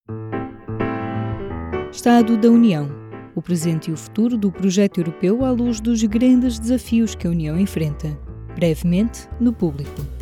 Estado da União. O presente e o futuro do projeto europeu à luz dos grandes desafios que a União enfrenta. Brevemente, no Público.